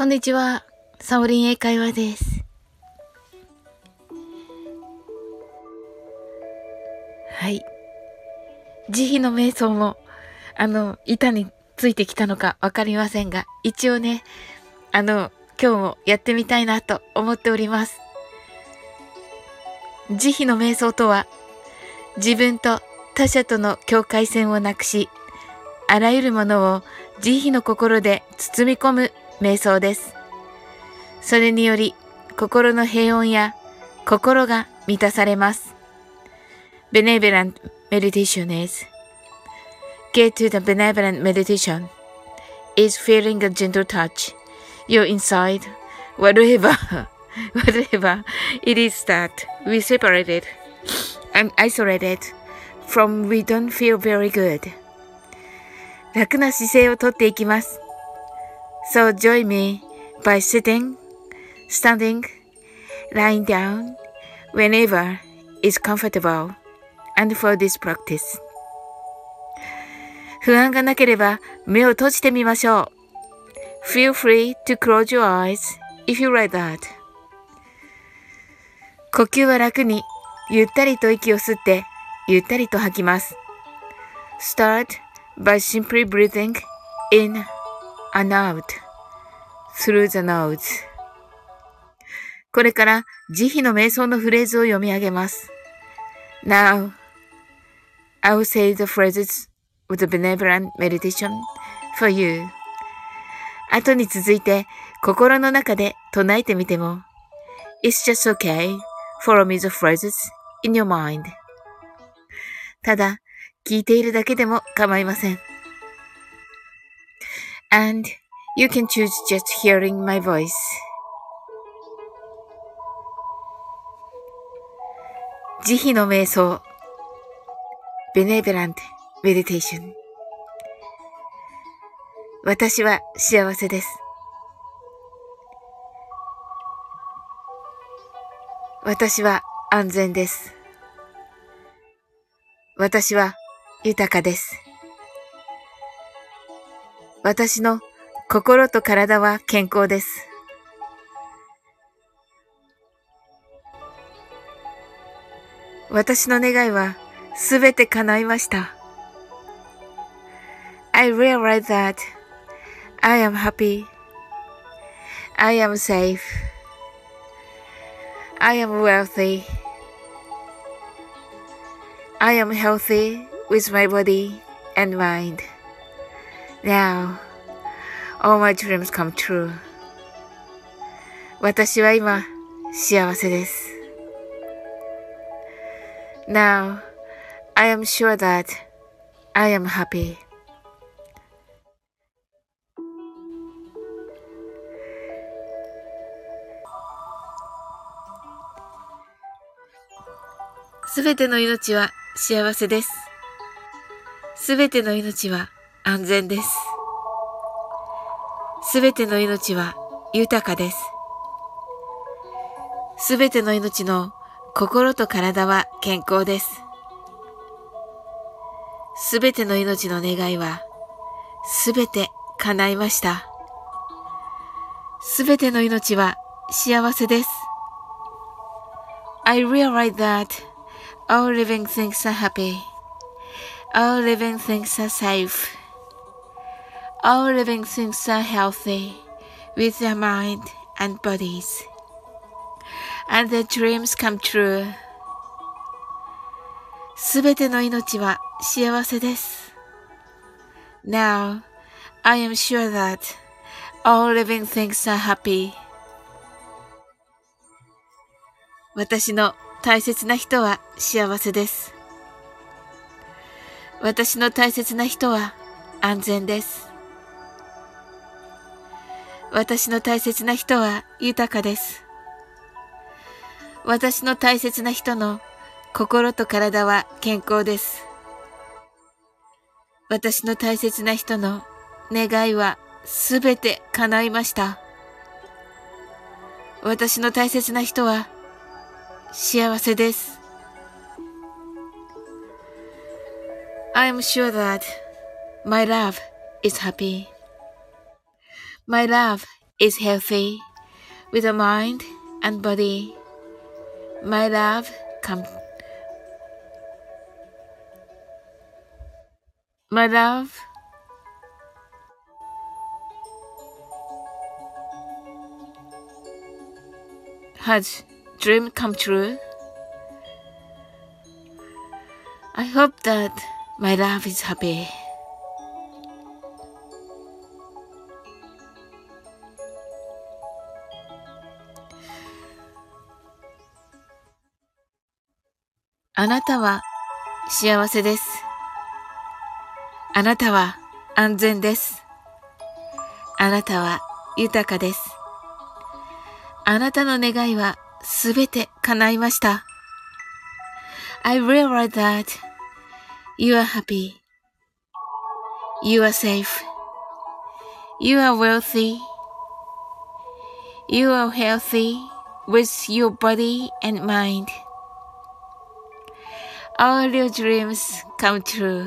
こんにちは。サオリン英会話です。はい。慈悲の瞑想も、板についてきたのかわかりませんが、一応ね、今日もやってみたいなと思っております。慈悲の瞑想とは、自分と他者との境界線をなくし、あらゆるものを慈悲の心で包み込む瞑想です。それにより、心の平穏や心が満たされます。Benevolent meditation is get to the benevolent meditation is feeling a gentle touch. You're inside, whatever it is that we separated and isolated from we don't feel very good. 楽な姿勢をとっていきます。So join me by sitting, standing, lying down, whenever is comfortable, and for this practice. 不安がなければ目を閉じてみましょう。Feel free to close your eyes if you like that. 呼吸は楽に、ゆったりと息を吸って、ゆったりと吐きます。Start by simply breathing in and out through the nose. これから慈悲の瞑想のフレーズを読み上げます。Now, I will say the phrases with the benevolent meditation for you. 後に続いて心の中で唱えてみても It's just okay. Follow me the phrases in your mind. ただ聞いているだけでも構いません。And you can choose just hearing my voice. 慈悲の瞑想 Benevolent Meditation 私は幸せです。私は安全です。私は豊かです。私の心と体は健康です。私の願いはすべて叶いました。I realize that I am happy. I am safe. I am wealthy. I am healthy with my body and mind. Now, all my dreams come true. 私は今、幸せです。Now, I am sure that I am happy. すべての命は幸せです。すべての命は安全です。すべての命は豊かです。すべての命の心と体は健康です。すべての命の願いはすべて叶いました。すべての命は幸せです。I realize that all living things are happy. All living things are safe. All living things are healthy with their mind and bodies. And their dreams come true. すべての命は幸せです。Now, I am sure that all living things are happy. 私の大切な人は幸せです。私の大切な人は安全です。私の大切な人は豊かです。私の大切な人の心と体は健康です。私の大切な人の願いはすべて叶いました。私の大切な人は幸せです。I am sure that my love is happy. My love is healthy with a mind and body. My love come my love has dream come true. I hope that my love is happy. あなたは幸せです。あなたは安全です。あなたは豊かです。あなたの願いはすべて叶いました。I realize that you are happy. You are safe. You are wealthy. You are healthy with your body and mind. All your dreams come true.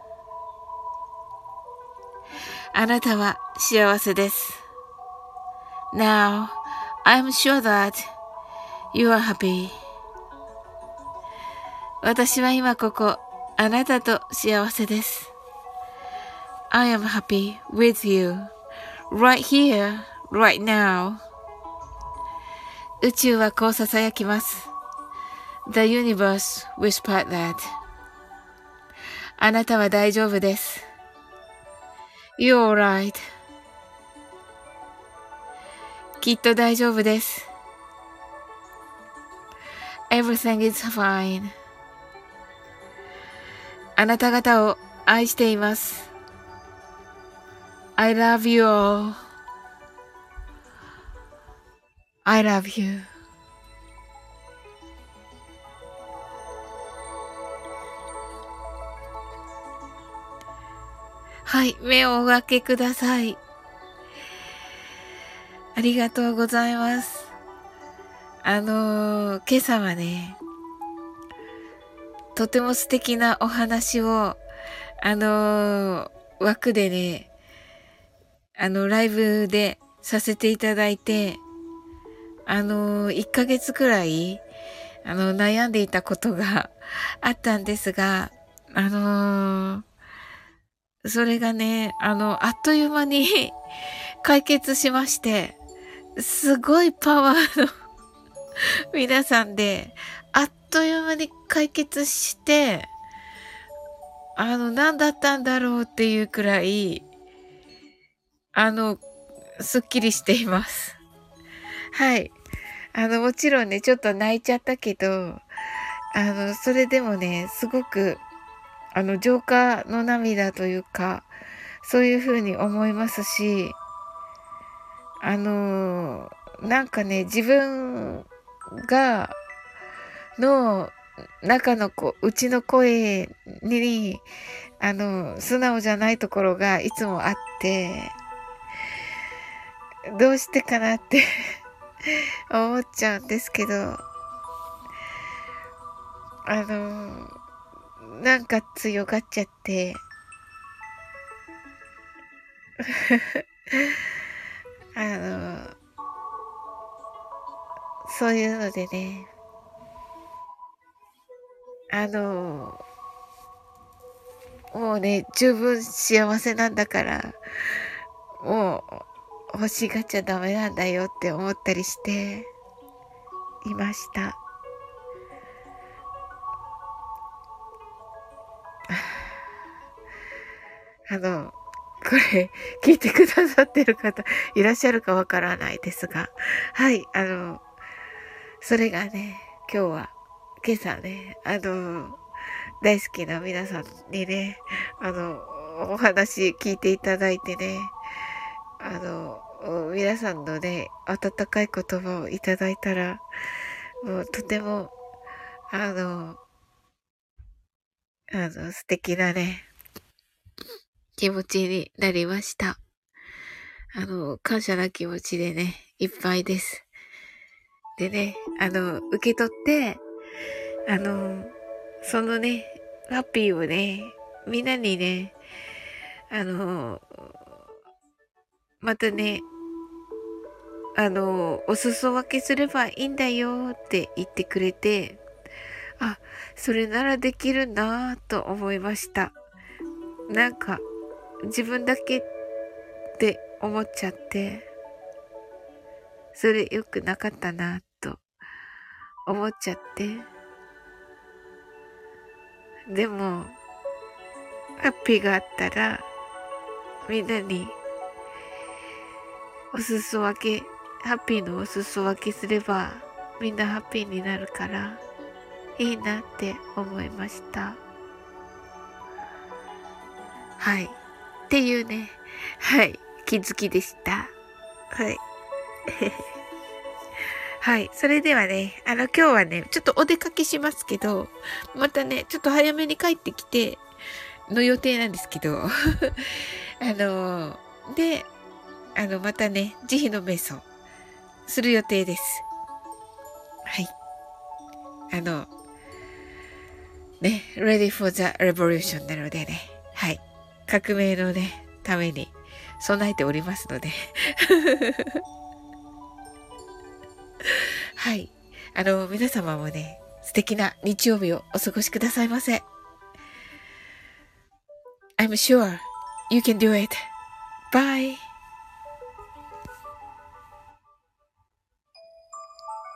あなたは幸せです。Now, I'm sure that you are happy. 私は今ここ、あなたと幸せです。I am happy with you, right here, right now. 宇宙はこう囁きます。The universe whispered that. あなたは大丈夫です。You're alright. きっと大丈夫です。Everything is fine. あなた方を愛しています。I love you all. I love you. はい、目をお開けください。ありがとうございます。今朝はね、とても素敵なお話を、枠でね、ライブでさせていただいて、1ヶ月くらい、悩んでいたことがあったんですが、それがね、あっという間に解決しまして、すごいパワーの皆さんで、あっという間に解決して、何だったんだろうっていうくらい、すっきりしています。はい。もちろんね、ちょっと泣いちゃったけど、それでもね、すごく、浄化の涙というか、そういうふうに思いますし、なんかね、自分の中のうちの声に、素直じゃないところがいつもあって、どうしてかなって思っちゃうんですけど、なんか強がっちゃって、そういうのでね、もうね、十分幸せなんだから、もう欲しがっちゃダメなんだよって思ったりしていました。これ、聞いてくださってる方いらっしゃるかわからないですが、はい、それがね、今朝ね、大好きな皆さんにね、お話聞いていただいてね、皆さんのね、温かい言葉をいただいたら、もうとても、素敵なね、気持ちになりました。感謝な気持ちでね、いっぱいです。でね、受け取って、そのね、ハッピーをね、みんなにね、またね、 お裾分けすればいいんだよって言ってくれて、あ、それならできるなぁと思いました。なんか、自分だけって思っちゃって、それ良くなかったなと思っちゃって。でも、ハッピーがあったら、みんなにお裾分け、ハッピーのお裾分けすれば、みんなハッピーになるから、いいなって思いました。はい。っていうね、はい、気づきでした。はい。はい。それではね、今日はね、ちょっとお出かけしますけど、またね、ちょっと早めに帰ってきて、の予定なんですけど、で、またね、慈悲の瞑想、する予定です。はい。ね、ready for the revolution なのでね、はい。革命のね、ために備えておりますので。はい。皆様もね、素敵な日曜日をお過ごしくださいませ。I'm sure you can do it. Bye.